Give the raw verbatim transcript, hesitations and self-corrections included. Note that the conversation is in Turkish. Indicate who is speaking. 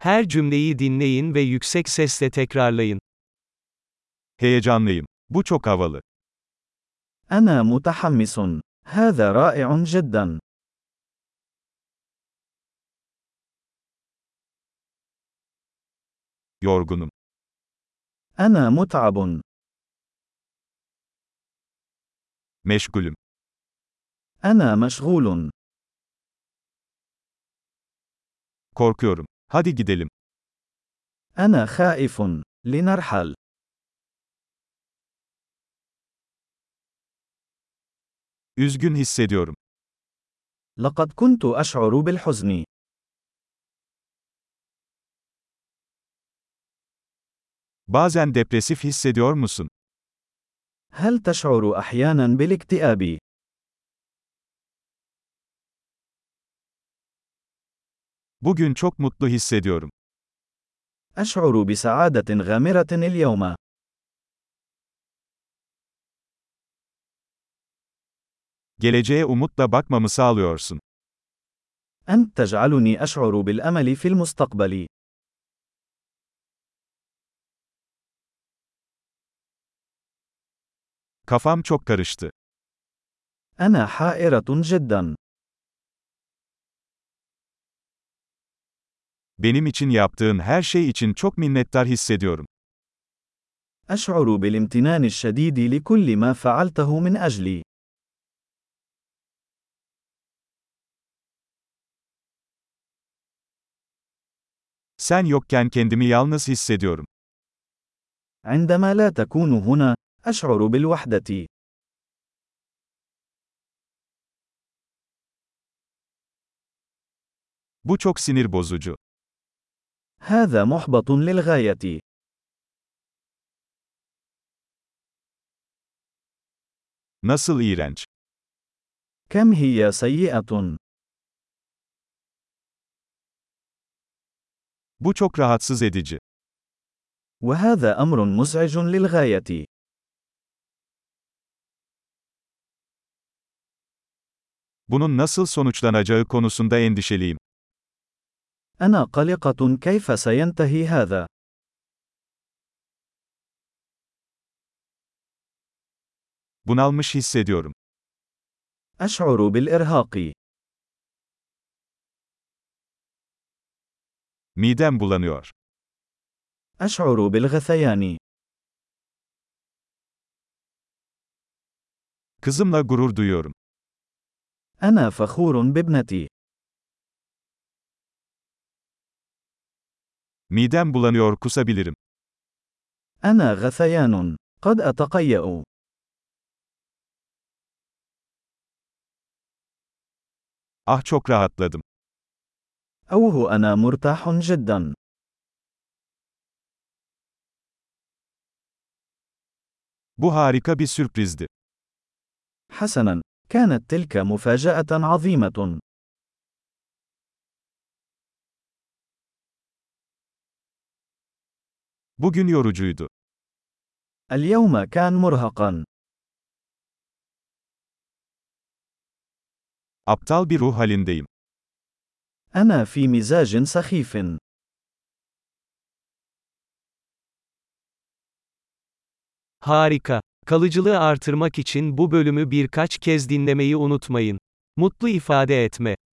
Speaker 1: Her cümleyi dinleyin ve yüksek sesle tekrarlayın.
Speaker 2: Heyecanlıyım. Bu çok havalı.
Speaker 3: أنا متحمس. هذا رائع جدا.
Speaker 2: Yorgunum.
Speaker 3: أنا متعب.
Speaker 2: Meşgulüm.
Speaker 3: أنا مشغول.
Speaker 2: Korkuyorum. Hadi gidelim.
Speaker 3: أنا خائف. لنرحل.
Speaker 2: Üzgün hissediyorum.
Speaker 3: لقد كنت أشعر بالحزن.
Speaker 2: Bazen depresif hissediyor musun?
Speaker 3: هل تشعر أحيانا بالاكتئاب؟
Speaker 2: Bugün çok mutlu hissediyorum.
Speaker 3: أشعر بسعادة غامرة اليوم.
Speaker 2: Geleceğe umutla bakmamı sağlıyorsun.
Speaker 3: أنت تجعلني أشعر بالأمل في المستقبل.
Speaker 2: Kafam çok karıştı.
Speaker 3: أنا حائرة جدا.
Speaker 2: Benim için yaptığın her şey için çok minnettar hissediyorum.
Speaker 3: أشعر بالامتنان الشديد لكل ما فعلته من أجلي.
Speaker 2: Sen yokken kendimi yalnız hissediyorum.
Speaker 3: عندما لا تكون هنا، أشعر بالوحدة.
Speaker 2: Bu çok sinir bozucu.
Speaker 3: هذا محبط للغاية.
Speaker 2: Nasıl iğrenç.
Speaker 3: كم هي سيئة.
Speaker 2: Bu çok rahatsız edici.
Speaker 3: وهذا أمر مزعج للغاية.
Speaker 2: Bunun nasıl sonuçlanacağı konusunda endişeliyim.
Speaker 3: أنا قلقة كيف سينتهي هذا.
Speaker 2: Bunalmış hissediyorum.
Speaker 3: أشعر بالإرهاق.
Speaker 2: Midem bulanıyor.
Speaker 3: أشعر بالغثيان.
Speaker 2: Kızımla gurur duyuyorum.
Speaker 3: أنا فخور بابنتي.
Speaker 2: Midem bulanıyor, kusabilirim.
Speaker 3: أنا غثيان. قد أتقيأ.
Speaker 2: Ah, çok rahatladım.
Speaker 3: أوه أنا مرتاح جدا.
Speaker 2: Bu harika bir sürprizdi.
Speaker 3: حسنا، كانت تلك مفاجأة عظيمة.
Speaker 2: Bugün yorucuydu.
Speaker 3: اليوم كان مرهقا.
Speaker 2: Aptal bir ruh halindeyim.
Speaker 3: أنا في مزاج سخيف.
Speaker 1: Harika. Kalıcılığı artırmak için bu bölümü birkaç kez dinlemeyi unutmayın. Mutlu ifade etme.